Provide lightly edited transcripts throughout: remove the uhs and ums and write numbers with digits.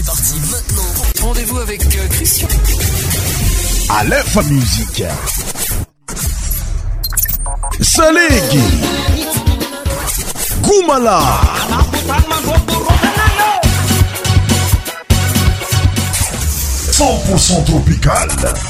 C'est parti maintenant. Rendez-vous avec Christian. Aleph Musique. Salegi. Goumala. 100% tropical.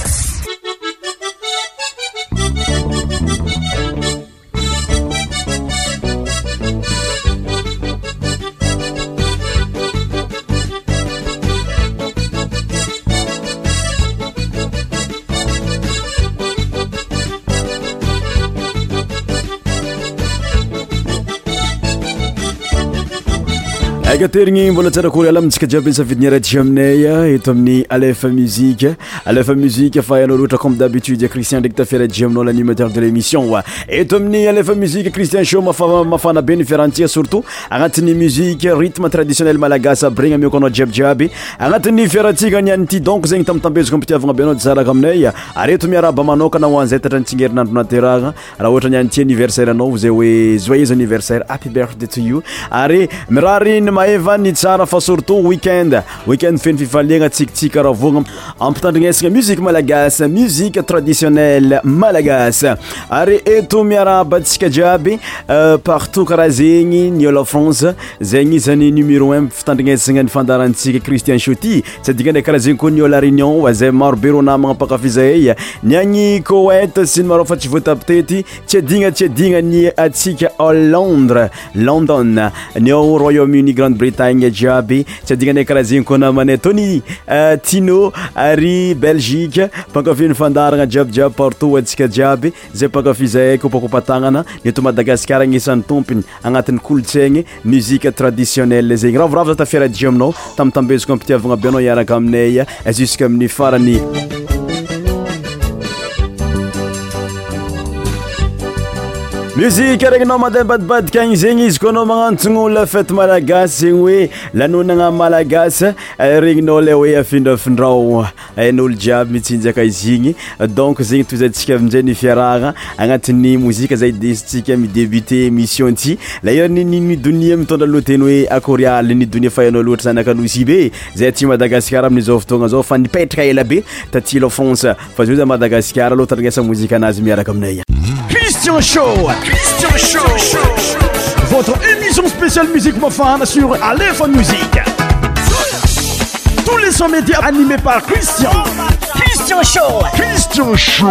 Agaterigny mbola tsara kory ala amintsika jiaby safidiny radio aminay eto amin'ny Aleph Musique. Aleph Musique fa yanao loatra comme d'habitude Christian ndraiky tafera radio aminao l'animateur de l'émission. Eto amin'ny Aleph Musique Christian Show mafana be ny fiarantsika surtout agnatin'ny musique rythme traditionnel malagasy aby regny amioko anao jiaby agnatin'ny fiarantsika niany ty donc zegny tamtambeziko ampitiavagna be anao tsaraka aminay ary eto miaraba manokana ho an'izay tatra nitsingerin''andro naterahagna raha ohatra niany ty anniversaire anao zay hoe joyeux anniversaire, happy birthday to you. Ary mirary maeva ny tsara fa surtout weekend feno fifaliagna tsikitsika raha vogna ampitandrignesagna musique malagasy, musique traditionnelle malagasy. Ary eto miaraba antsika jiaby partout karaha zegny ny olo France zegny izany numéro 1 fitandrignesagna ny fandarantsika Christian Shoty tsy adikany karaha zegny koa ny olo Réunion zay maro be rô namagna mpakafizahay ny agny Koweït sy ny maro fa tsy voatapitety tsy adigna ny atsika Londres, London ny ao Royaume-Uni, Grande-Bretagne jiaby tsy adignanay karaha zegny koa namanay Tony Tino ary Belgique mpankafy fandaragna jiaby partout antsika jiaby zay mpankafy zahay kopakopatagnana ny eto Madagasikara agnisan'ny tompony agnatin'ny kolontsaigny musique traditionnelle zegny ravoravo za tafiara dia aminao tamtambeziko ampitiavagna be anao iaraka aminay jusqu'à amin'ny farany. Musique regninao madambadibadika igny zegny izy koa anao magnantogno la fête malagasy zegny hoe lanonagna malagasy regninao le hoe afindrafindrao ain'olo jiaby mitsinjaka izy igny donc zegny toizantsika amin'izay ny fiarahagna agnatin'ny mozika zay desitsika midébuté émission ty la iran'ny nidonia mitondra loteny hoe akory aly nidonia fa hainao loatra zanak'anosy be zay aty Madagasikara amin'izao fotoagna zao fa nipetraka ela be taty la France fa zao za Madagasikara aloha tandrignesa mozika anazy miaraka aminay. Christian Show. Votre émission spéciale musique mofane sur Aleph Musique. Tous les sons médias animés par Christian. Christian Show.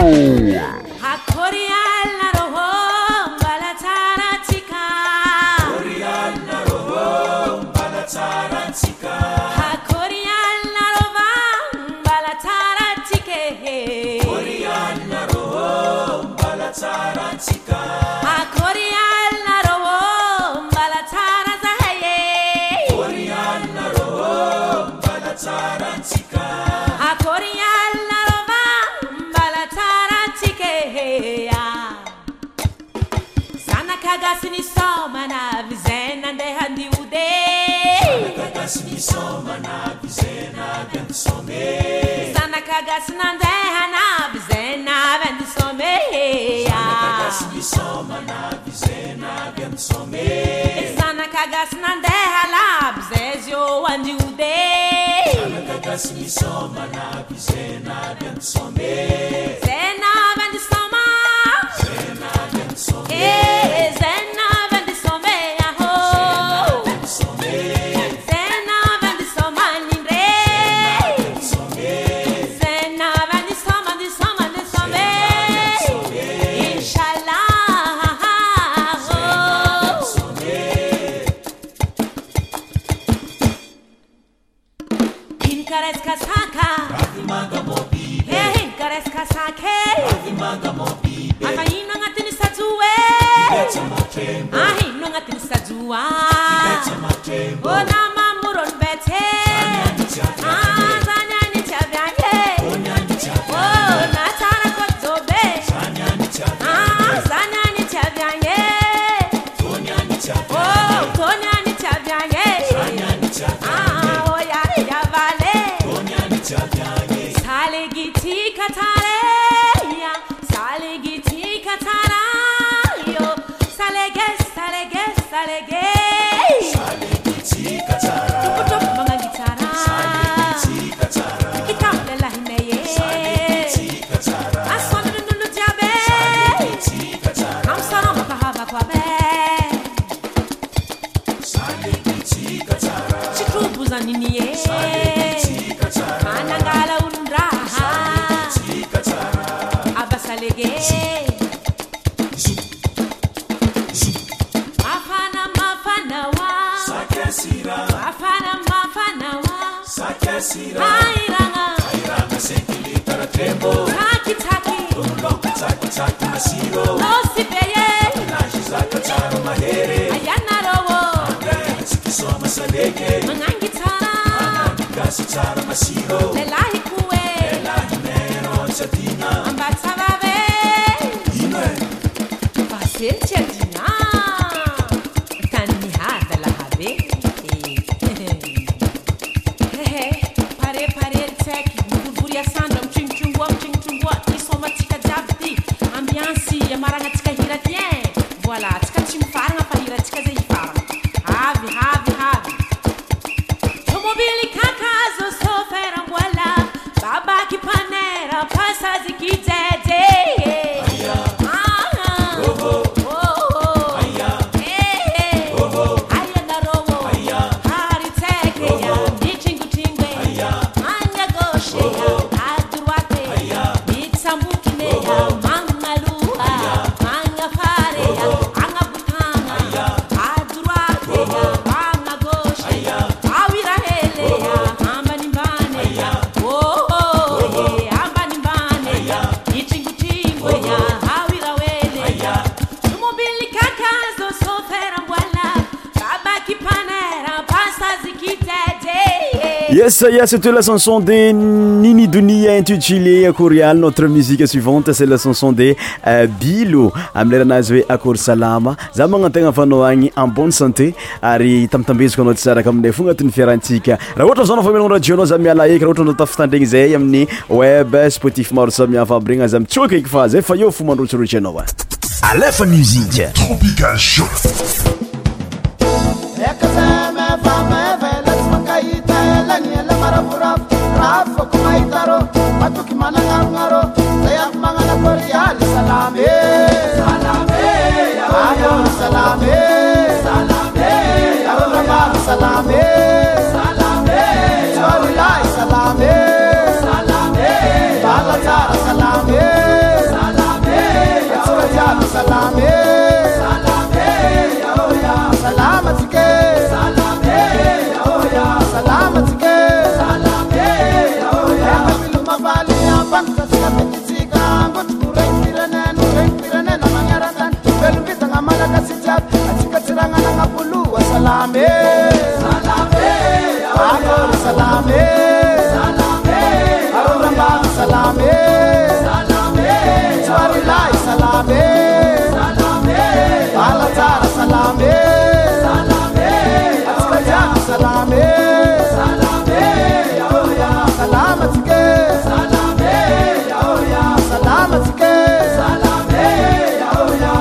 Sale Yes, c'était la chanson de Nini Dunia intitulée Akorial. Notre musique suivante, c'est la chanson de Bilo. Amleranazy Akor Salama. Za magnategna fanao agny en bonne santé. Ary tamtambeziko anao tsara aminay fo agnatin'ny fiarantsika. Raha ohatra zao anao fa radio anao za miala eky, raha ohatra anao tafitandregny zay amin'ny web, Spotify maro samihafa aby regny za mitsoaka eky fa zay fa eo fo mandrotsirotsy anao. Alefa musique Tropical Show. Rafa kumaitaro matuki manangaro saya mangana Korea salame salame ayo salame salame arama salame salame chorulai salame salame balazar salame salame chorja salame salame oya salamatike salame oya salamatike Salame, salame, salame, salame, salame, salame, Chuarilai salame, salame, Balazar salame, salame, Askajam salame, salame, Oya, salamatike, salame, Oya, salamatike, salame, Oya.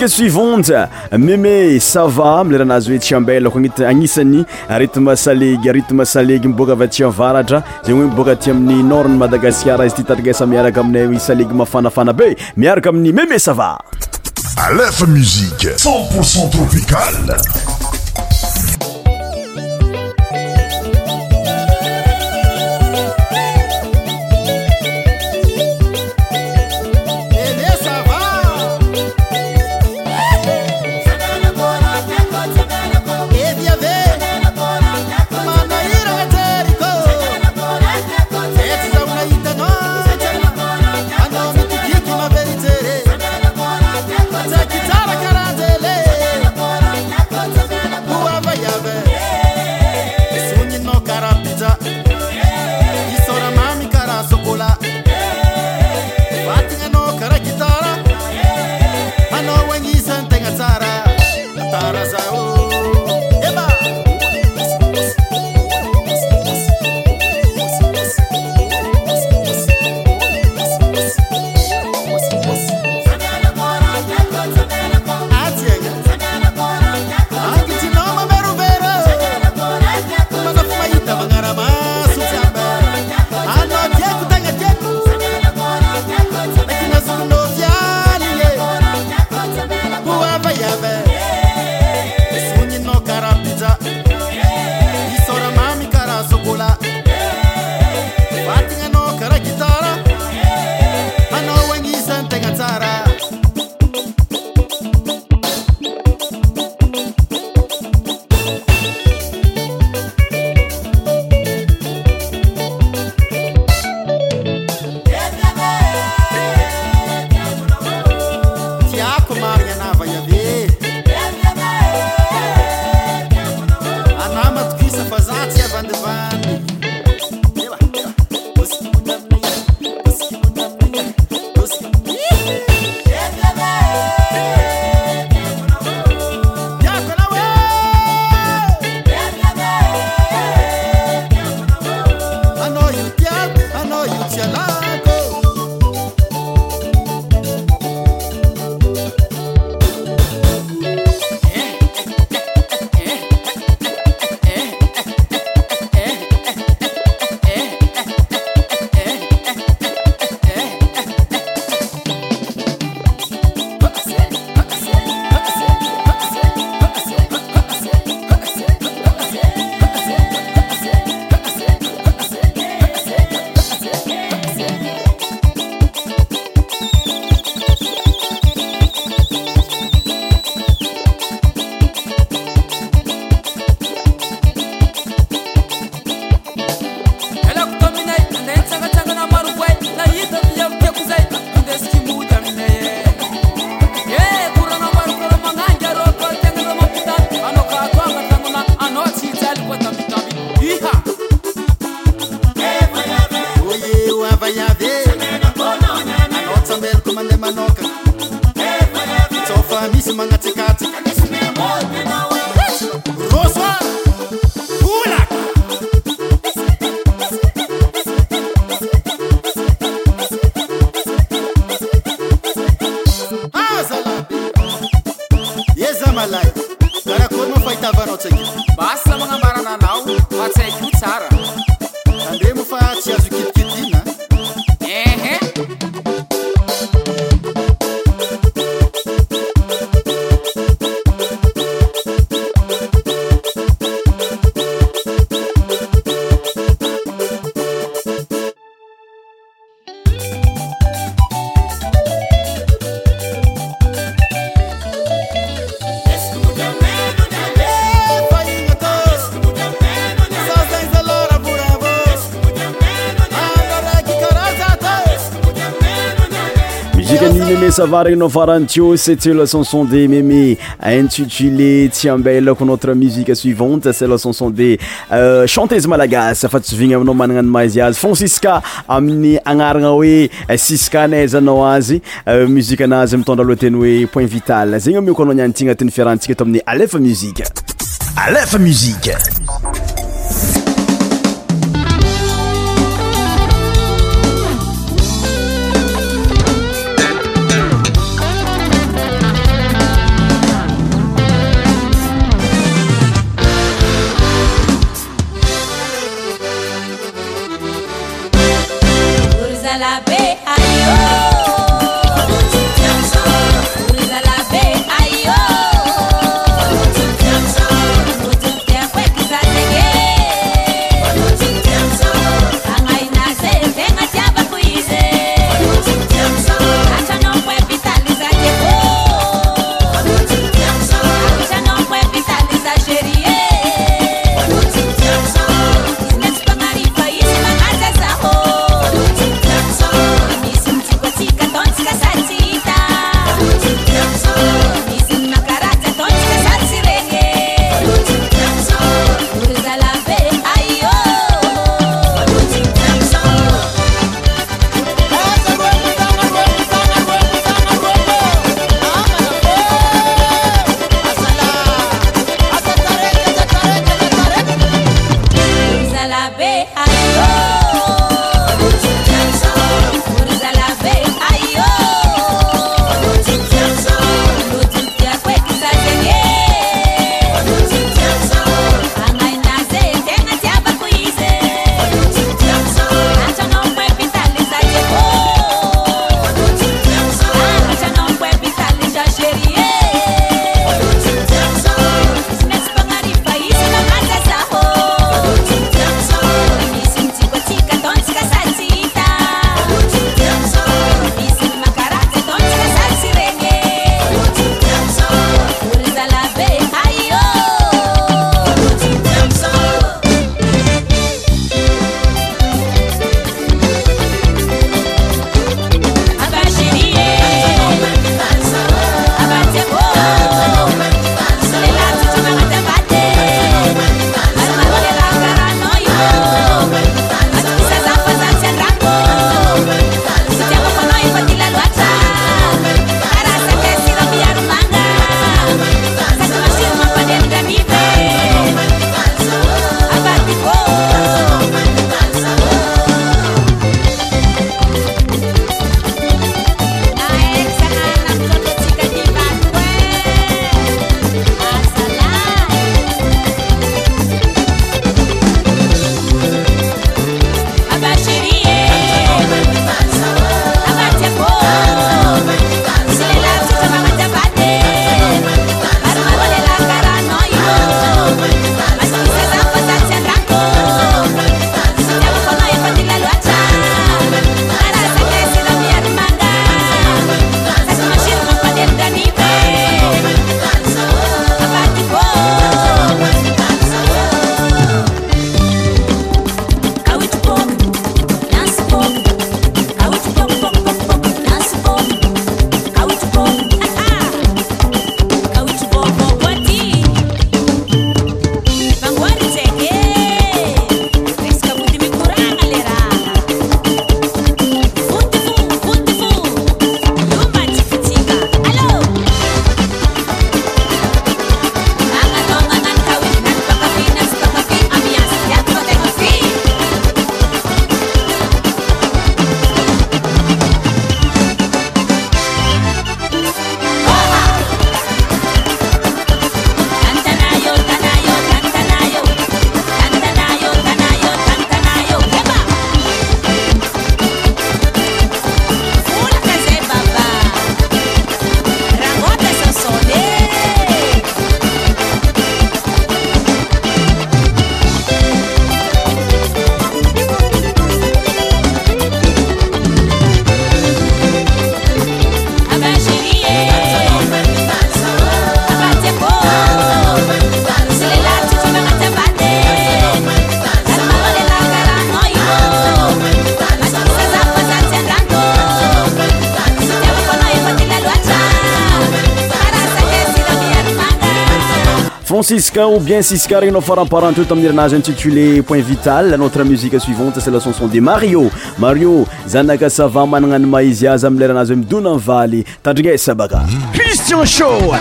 musique suivante Mémé Sava mileranazy hoe Tsiambelako agnisan'ny rythme salegy miboaka avy aty avaratra zegny hoe miboaka aty amin'ny nord ny Madagasikara izy ty tarigasa miaraka aminay salegy mafanafana be miaraka amin'ny Mémé Sava. Aleph Musique 100% tropicale. Sava regny farany tio, c'était la chanson de Mémé intitulée Tsiambelako. Notre musique suivante c'est la chanson de chanteuse malagasy fa tsy vigny aminao managna ny mazy azy Francisca amin'ny agnarana hoe Siska naizanao azy musique anazy mitondra lohateny hoe point vital zegny amioko anao niany ty agnatin'ny fiarantsika eto amin'ny Aleph Musique. Aleph Musique. Siska ou bien Siska regny faramparanteo tamin'ny herinazy intitulé Point Vital. Notre musique suivante c'est la chanson de Mario. Mario zanaka sava managna ny maizy azy amin'ny leranazy midona valy tandrignesa baka. Christian Show.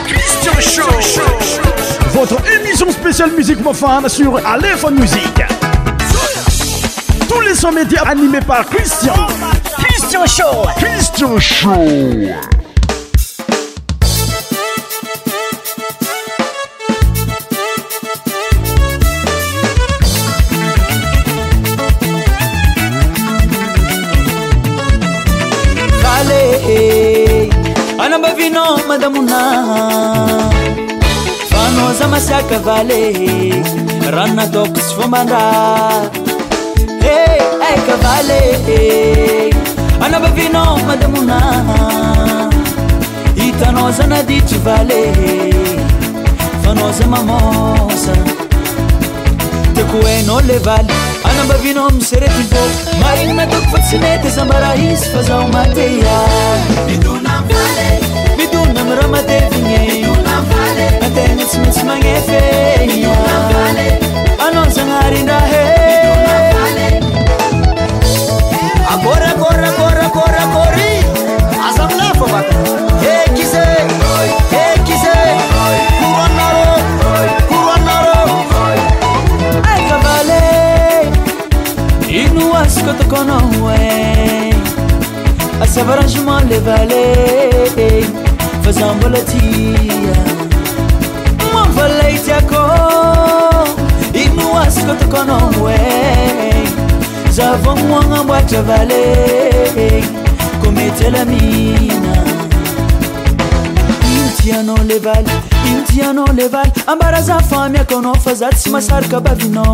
Votre émission spéciale musique mofane sur Aléphone Musique. Tous les sons médias animés par Christian. Christian Show. Anambavino madamuna fanoza masiaka vale ranna toks fombandra hey ay kavale anambavino madamuna itanoza naditry vale fanoza mamosa tekueno le vale anambavino miserety fo marina toko fa tsy mety sambara izy fa zaho mateya miduna miramatevigny ategna tsy maintsy magnefeya anao zagnarindrahe akory aza milefa baka hekize kuranaro aikavale ino asiko tokonao e asava arrangement le vale fazambola tia manvalaitiako ino asiko tokonao e zavognoagna amboatra vale komety alamina intianao le vale ambara za famiako anao fa za tsy masaraka bavinao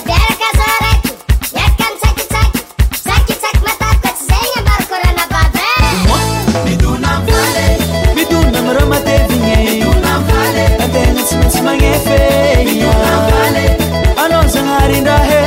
miduna miramatevigny ategna tsy maintsy magnefeya anao zagnarindrahe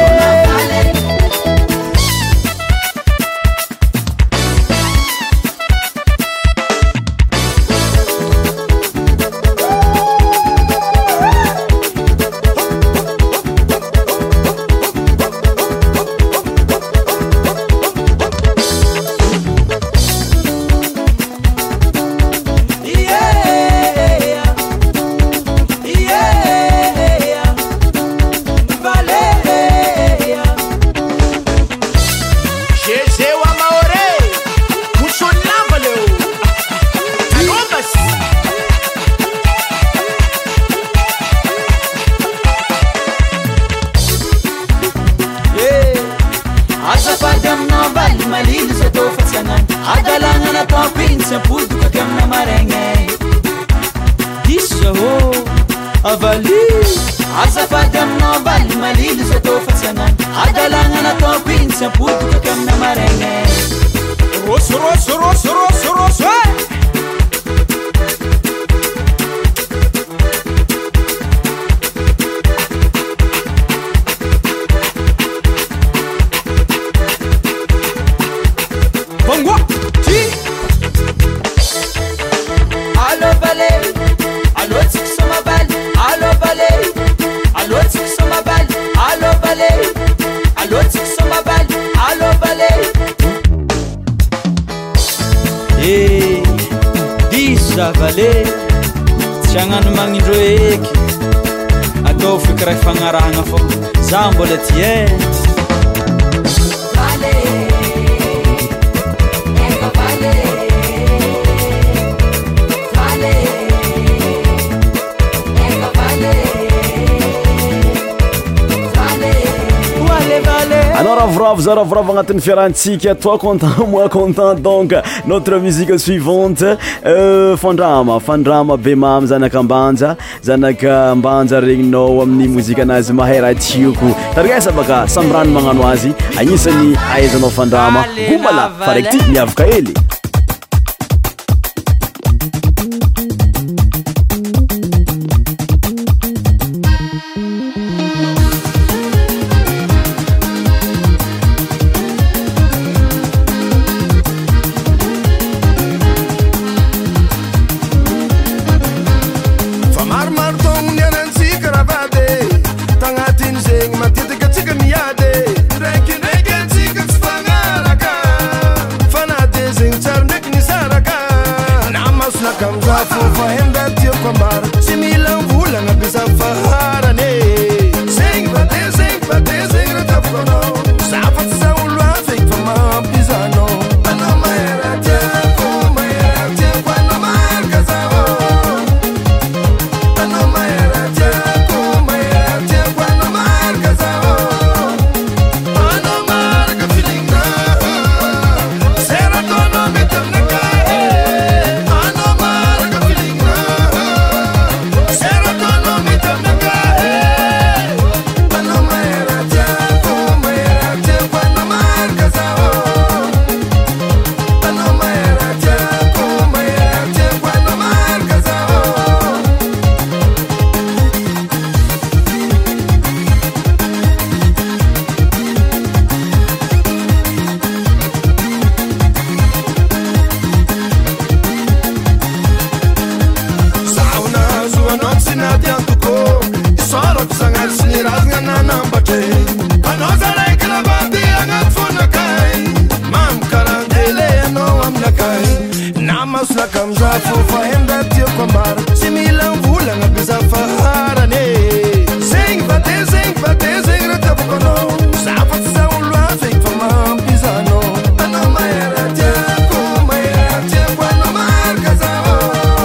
vale tsy agnano magnindro eky atao fikira fagnarahagna fô za mbola ty Alors ravoravo agnatin'ny fiarantsika, toi content, moi content. Donc notre musique suivante fandrama be mamy zanaka ambanja regninao amin'ny mozika anazy mahay raha tiako tarigasa baka sambrano magnano azy agnisan'ny ahaizanao fandrama gomala fa raiky ty miavaka hely. Marmardon fofa enda tio kwambara simila mvula na bisa fahara ne sing bate ratafuno safat sa ulwa fake fama pisano ano maera tia kwa no marca sao ano maera tia kwa no marca sao ano marca feeling na sera tono metam na kai ano marca feeling na sera tono metam na kai ano maera tia kwa no marca sao ano maera tia kwa no marca sao sauna zua notsina diantuko isoro kusangar sinirazga nanambake anozalekla bandi angatfunakai mam karandele no amnakai namasnakamza fofa enda tio kwambara simila mvula na bisa fahara ne sing bate ratafukono safat sa ulwa fake fama pisano ano maera tia kwa no marca sao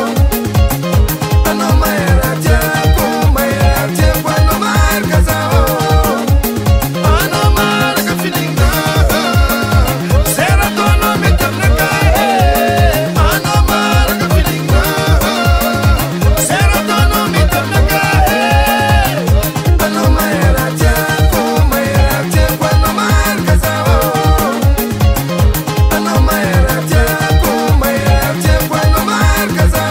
ano maera tia kwa no marca sao ano marca feeling na sera tono metam na kai ano marca feeling na sera tono metam na kai ano maera tia kwa no marca sao ano maera tia kwa no marca sao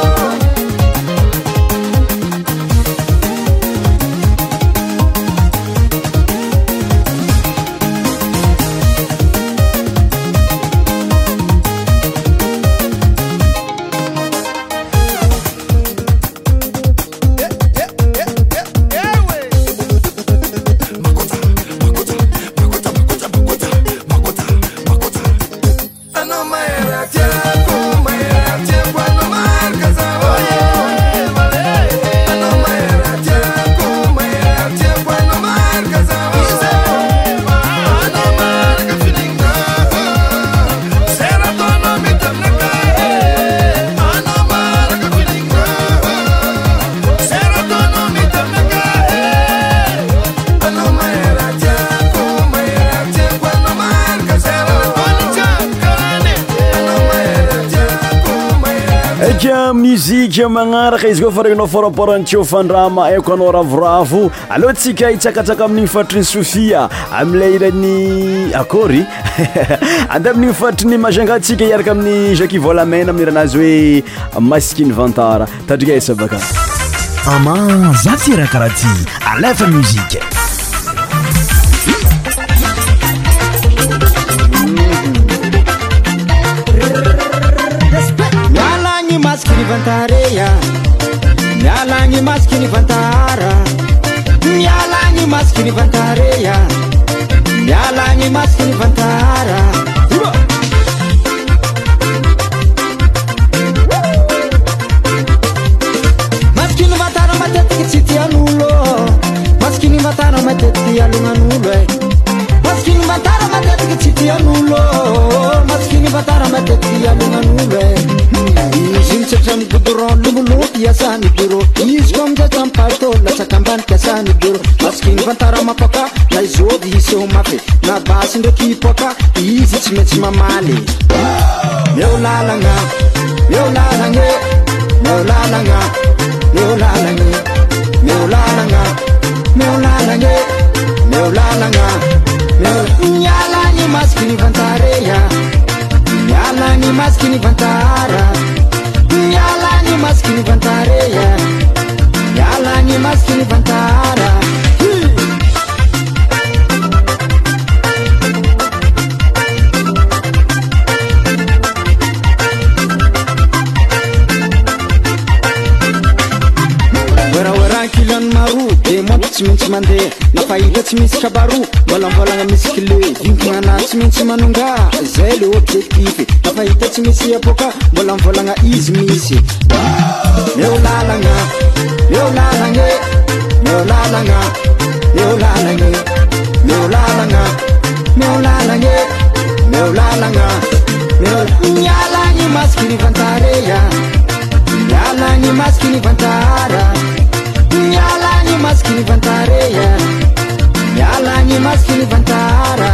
ano maera tia kwa no marca sao ano maera tia kwa no marca sao ano marca feeling na sera tono metam na kai ano marca feeling na sera tono metam na kai ano maera tia kwa no marca sao eka muzika magnaraka izy koa fa regninao faraparantseo fandrama aiko anao ravoravo aloha tsika hitsakatsaka amin'igny fatriny Sofia am'ilay irany akory ande amin'igny fatriny majanga tsika hiaraka amin'ny Jackie Volamena amin'ny iranazy hoe Maskiny Vantara tadrika esa baka ama za ty raha karaha ty alefa muzika Mialangi Maskiny Vantara Mialangi Maskiny Vantara Mialangi Maskiny Vantara Mialangi Maskiny Vantara Maskiny Vantara matetiky tsy tian'olo Maskiny Vantara matetiky alognanulo Maskiny Vantara matetiky tsy tian'olo Maskiny Vantara matetiky alognanulo Izy mitsatra amy goudron lomolo iasany bureau Izy koa mijatra amy palto latsaka ambany kiasany bureau Maskiny Vantara mapaka na izody iseho mafy na basy ndraiky hipoaka izy tsy maintsy mamaly Meo lalagna Meo lalagna Meo lalagna Meo lalagna Meo lalagna Meo lalagna Meo lalagna Mialangi Maskiny Vantara Mialangi Maskiny Vantara Mialangi Maskiny Vantara Mialangi Maskiny Vantara Wera wera kila rano maro de monty tsy maintsy mandeha nafahila tsy misy kabaro mbolambolagna misy clé vinkignana tsy maintsy manonga zay le objectif nafahita tsy misy apoka mbolambolagna izy misy meo lalagna meo lalagna meo lalagna meo lalagna meo lalagna meo lalagna meo lalagna mialagny maskiny vantareya mialagny maskiny vantara mialagny maskiny vantareya mialagny maskiny vantara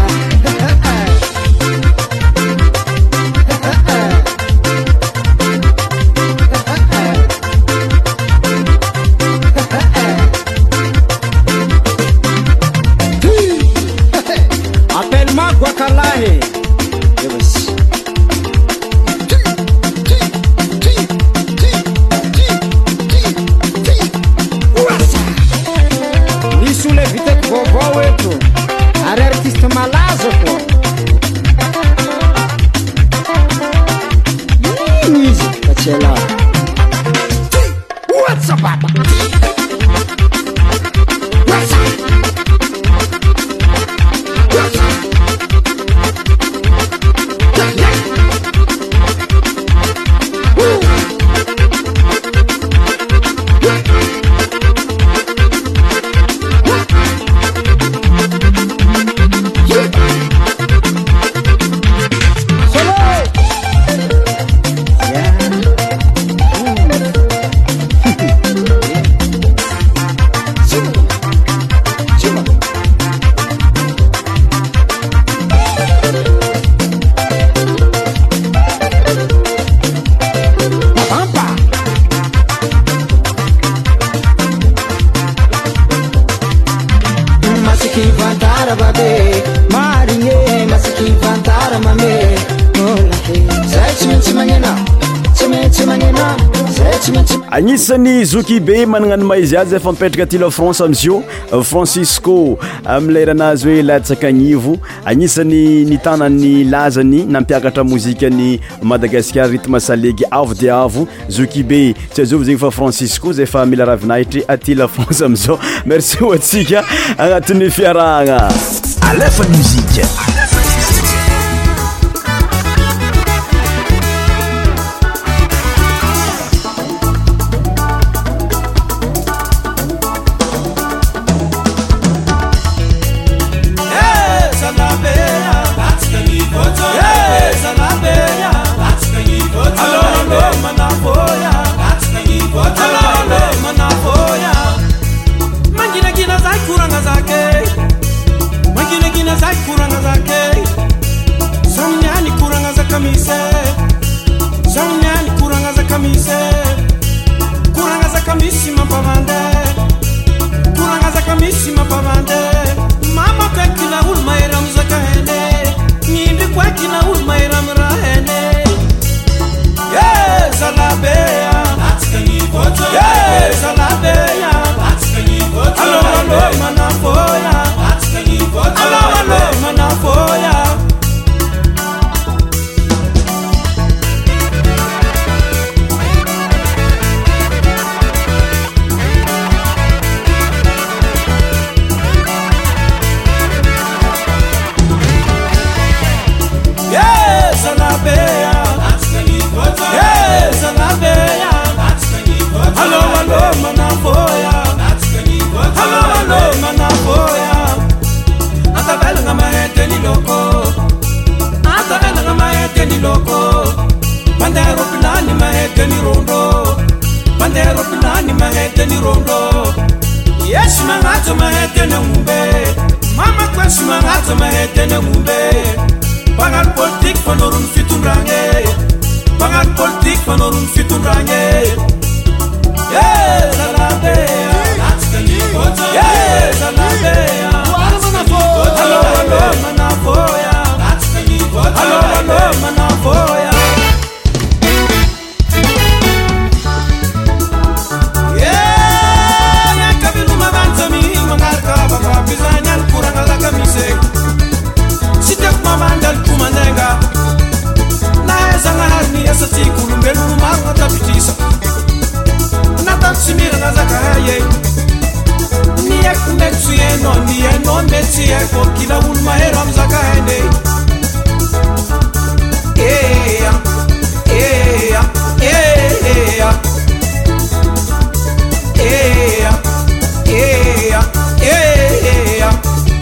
appelle-moi Guacalahe. Are artista malazo po music facela what's up papa what's up agnisan'ny zoky be managnano maizy azy efa mipetraka aty la France amizio Francisco am'leranazy hoe latsakagnivo agnisan'ny nitanany lazany nampiakatra mozikany Madagasikara rythme salegy avo de avo zoky be tsy azovy zegny fa Francisco zay efa mila ravinahitry aty la France amizao merci hoatsika agnatin'ny fiarahagna Alefa musique. no metsy haiko kila olo mahero amy zakahany ea ea ea ea ea ea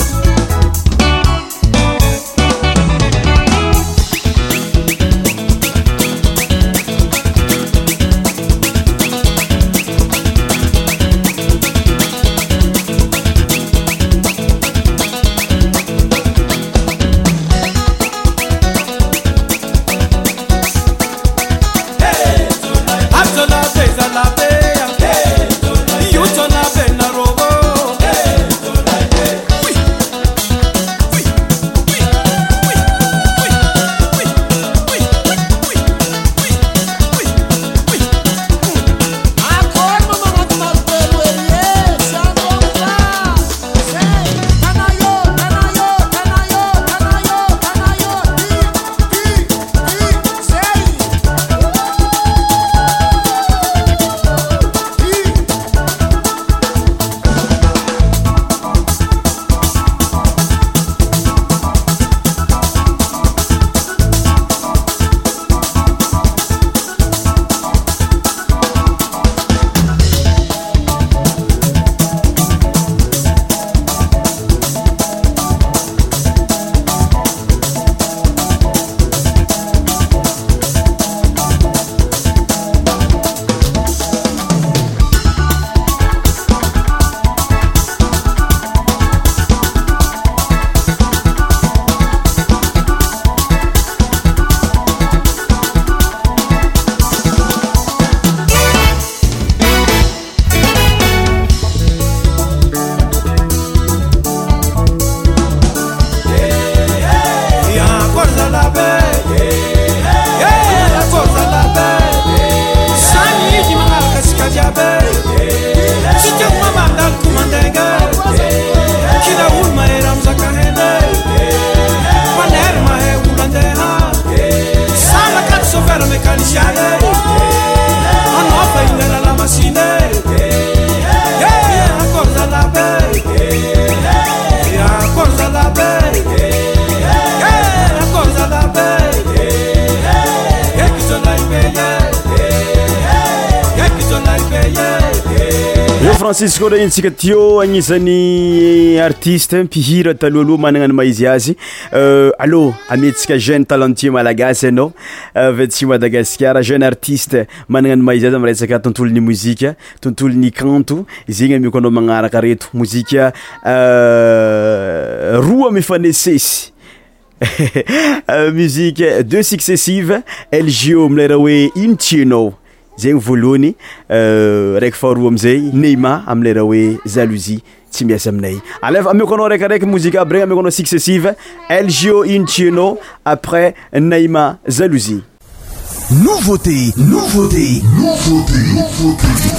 Francisco Rentsika tio agnisany artiste mpihira talohaloha managna ny maizy azy allo ametsika jeune talentueux malagasy anao avetsy Madagasikara jeune artiste managna ny maizy azy amy resaka tontolo ny mozika tontolo ny kanto zegny ameko anao magnaraka reto mozika roa mifanesesy musique deux successives LGO milera hoe intienao zegny voalohany raiky faharoa amizay Neymar amilera hoe jalousie tsy miasa aminay aleva ameko anao raikaraiky mozika aby regny ameko anao successive LGO intienao après Neymar jalousie nouveauté nouveauté nouveauté nouveauté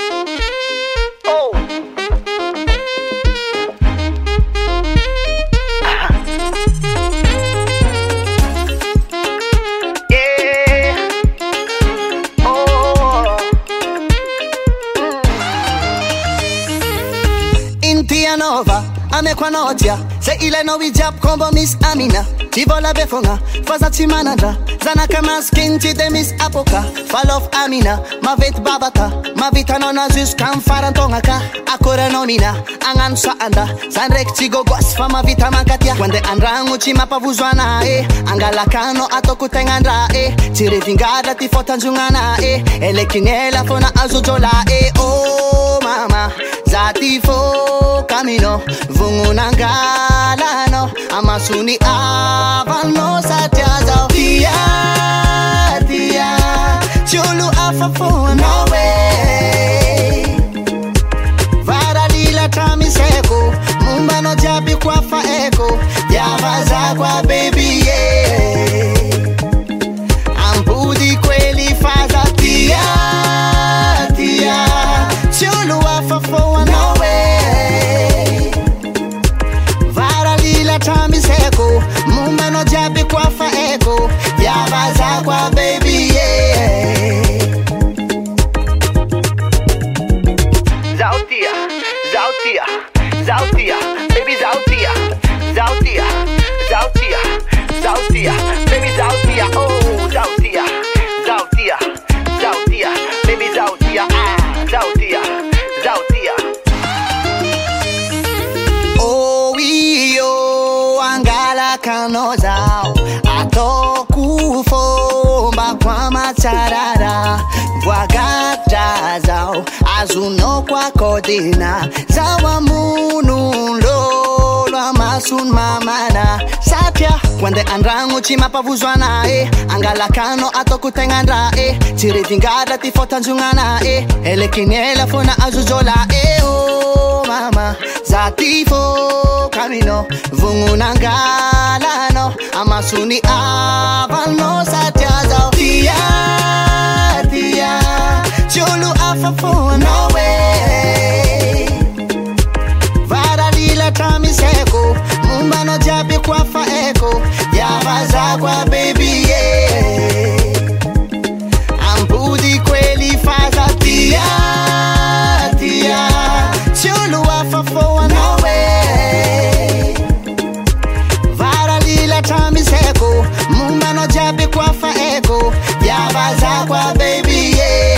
Nova amekwa notia se ile no wijap kombo Miss Amina tivola befonga faza timananda zana kama skin de Miss Apoka fall of Amina ma vet babata ma vitano na zus kan farantonga ka akora nomina angan sa anda sanrek tigo gos fama vita mankatia kwende andrangu chima pavuzwana angalakano atokutengandra tirevingada tifotanjungana elekinela fona azujola oh mama zatifo camino vungunangalano amasuni avano satyaza tia tia chulu afafo no way varalila tamiseko mumbano jabi kwa faeko yavaza kwa baby yeah ampudi kweli faza tia tia chulu afafo no way varalila tamiseko mumbano jabi kwa faeko yavaza kwa baby yeah zautia zautia Zautia, baby Zautia, Zautia, Zautia, Zautia, baby Zautia, oh Zautia, Zautia, Zautia, baby Zautia, Zautia, Zautia. Oh io angala kanozao atokufomba kwa macharara Wagata azuno kwa kodina zawa munulo lwa masun mamana satya kwande andrangu chima pavuzwana angalakano atokutengandra tiridingada tifotanzungana elekinela fona azuzola oh mama zatifo camino vungunangalano amasuni avano satya zao Chulu afafo no way Varalila tamiseko Mumbano jabi kwa faeko Yavaza kwa baby yeah Ambudi kweli faza tia Tia Chulu afafo no way Varalila tamiseko Mumbano jabi kwa faeko Yavaza kwa baby yeah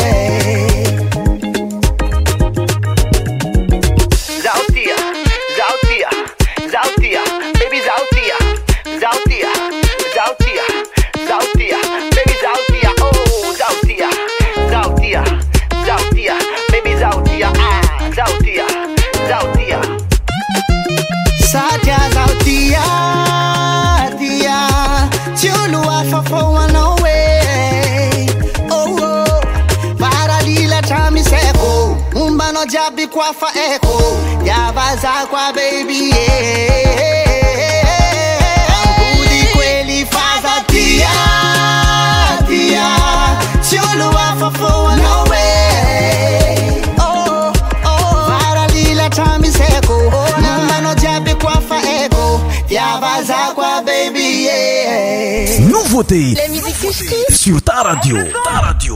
Jabi kwa fa eko Yavaza kwa baby yeah Ambudi kweli faza tia Tia Chulu wafafo no way Oh oh Varalila tamiseko Mumbano jabi kwa fa eko Yavaza kwa baby yeah Nouveauté sur ta radio. Ta radio.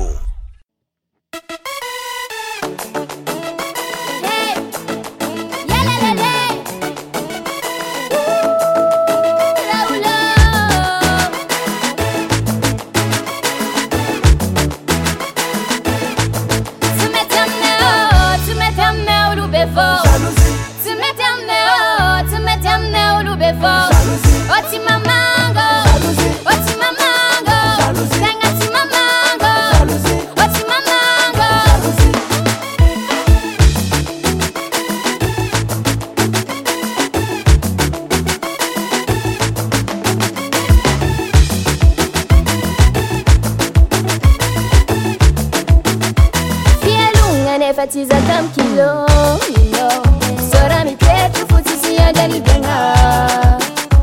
Fatiza tam kilo, sora mi pecho futisi andali benga.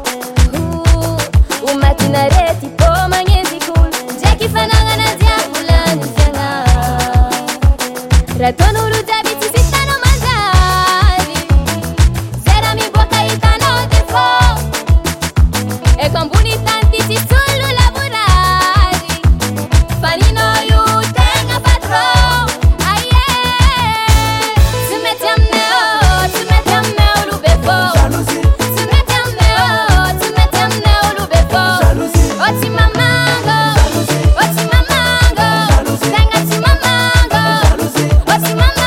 Umatina reti po manyezi cool, Jackie fananga na diabula ni fenga. Ratono rutabiti sitano manzari, zera mi boca itano defo. E con buni tanti si solo lavorari, fanino yu tenga patron. What's my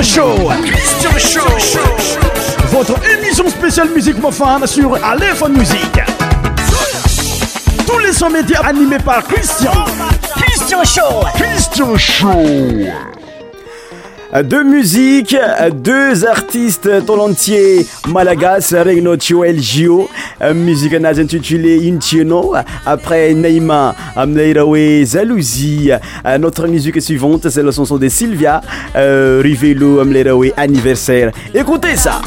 Show. Votre émission spéciale musique mofane sur Aléphone Musique. Tous les sons médias animés par Christian Show. Deux musiques, deux artistes talentiers malagasy regno Joel Gio, musique nazy intitulée Intieno. Après Neymar Amleiraoue Zalouzi, notre musique suivante c'est la chanson de Sylvia Rivelo Amleiraoue Anniversaire. Écoutez ça.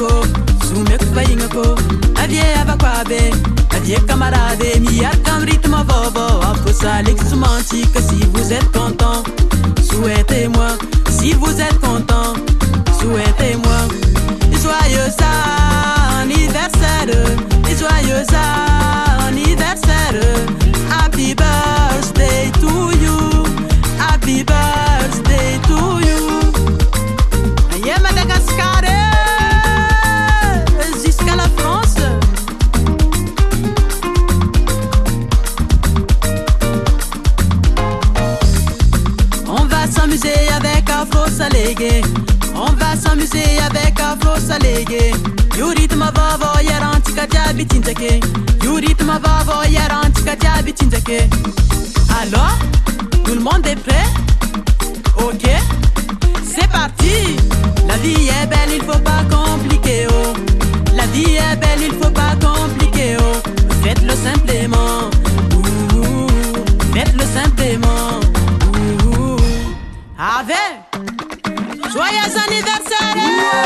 Camarade, mi-arcam rythme bobo, un peu ça l'ex-romantique. Si vous êtes content, souhaitez-moi. Si vous êtes content, souhaitez-moi. Joyeux anniversaire, joyeux anniversaire. Happy birthday to you, happy birthday to you. Aïe Madagascar, jusqu'à la France. S'amuser avec Afro Salégué. On va s'amuser avec Afro Salégué. You rythme vavo yarantika diabi tintake. You rythme vavo yarantika diabi tintake. Alors, tout le monde est prêt? Ok, c'est parti. La vie est belle, il faut pas compliquer oh. La vie est belle, il faut pas compliquer oh. Faites-le simplement. Faites-le simplement. Avec joyeux anniversaire.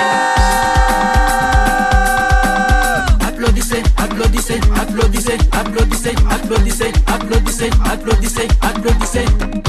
Applaudissez, applaudissez, applaudissez, applaudissez, applaudissez, applaudissez, applaudissez, applaudissez.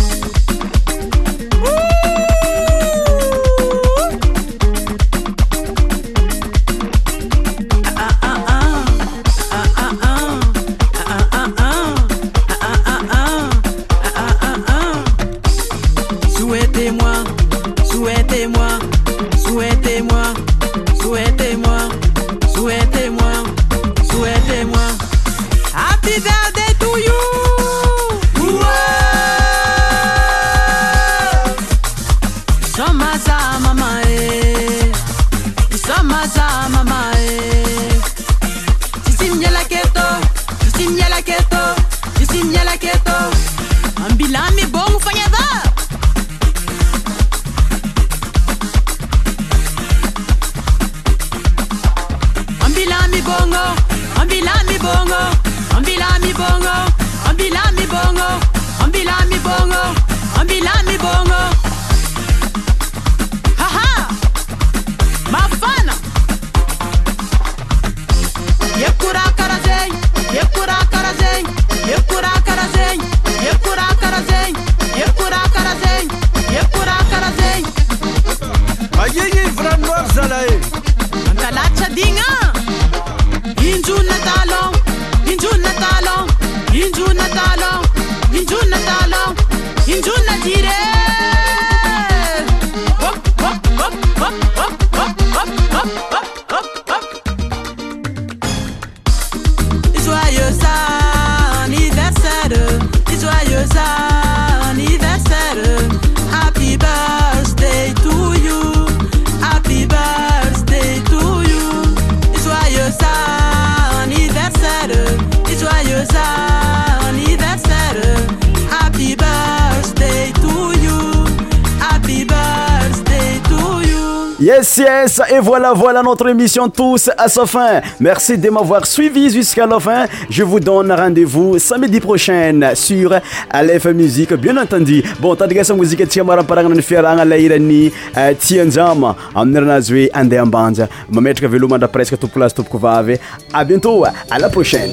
Yes, et voilà notre émission tous à sa fin. Merci de m'avoir suivi jusqu'à la fin. Je vous donne rendez-vous samedi prochain sur Aléphone Musique, bien entendu. Bon, tadgasa musique tiamara parangana fiaranga lairani tianjama amnernazoe ande ambanja. Mametraka velomandra presque tout place tout vavy. À bientôt, à la prochaine.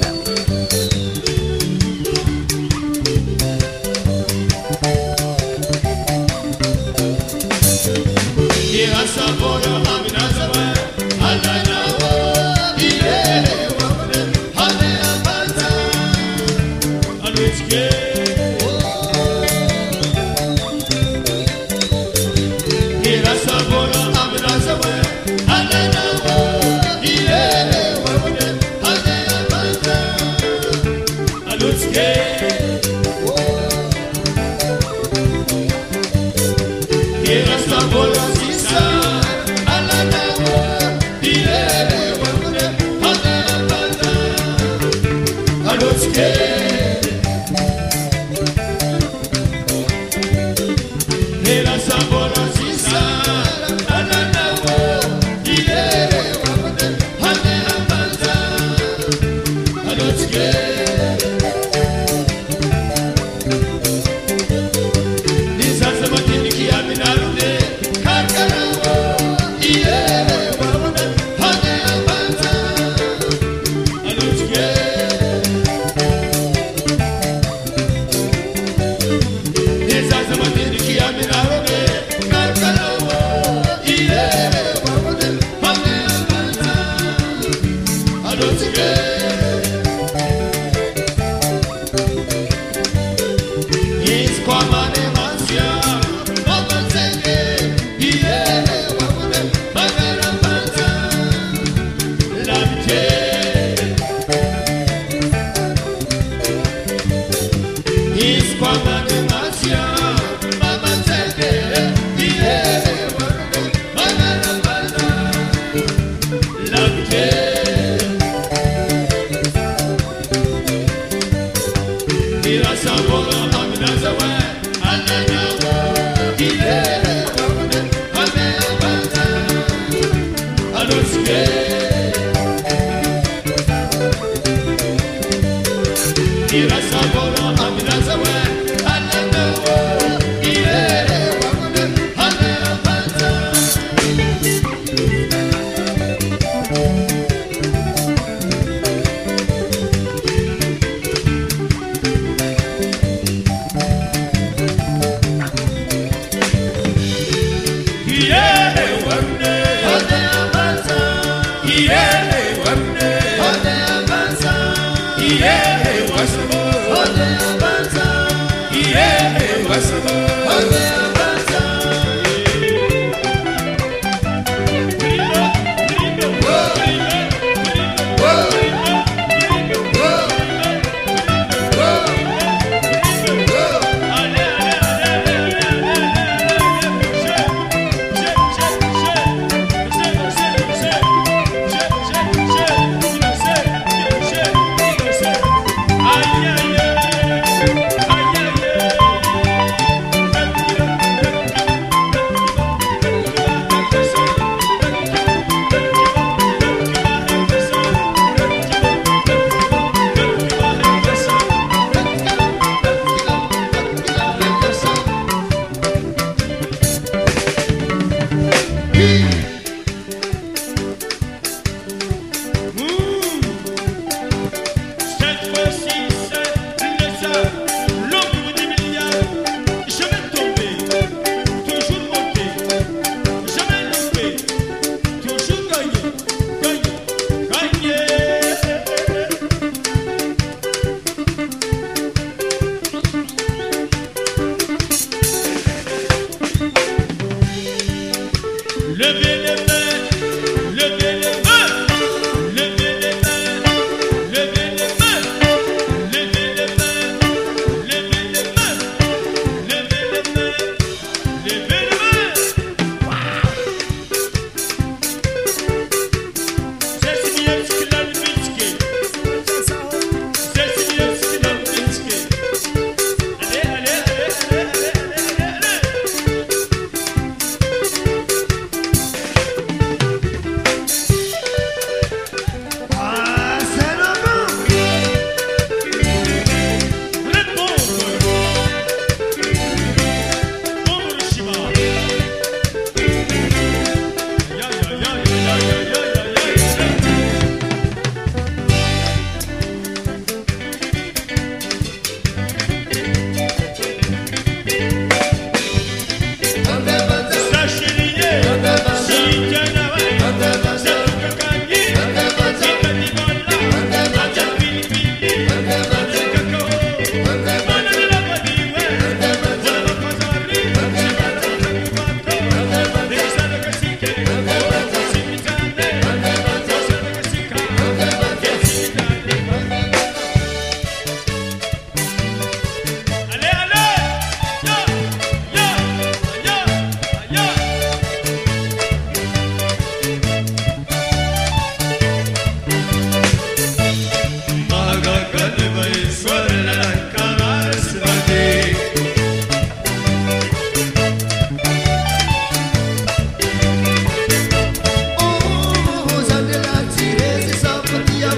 Ira sabor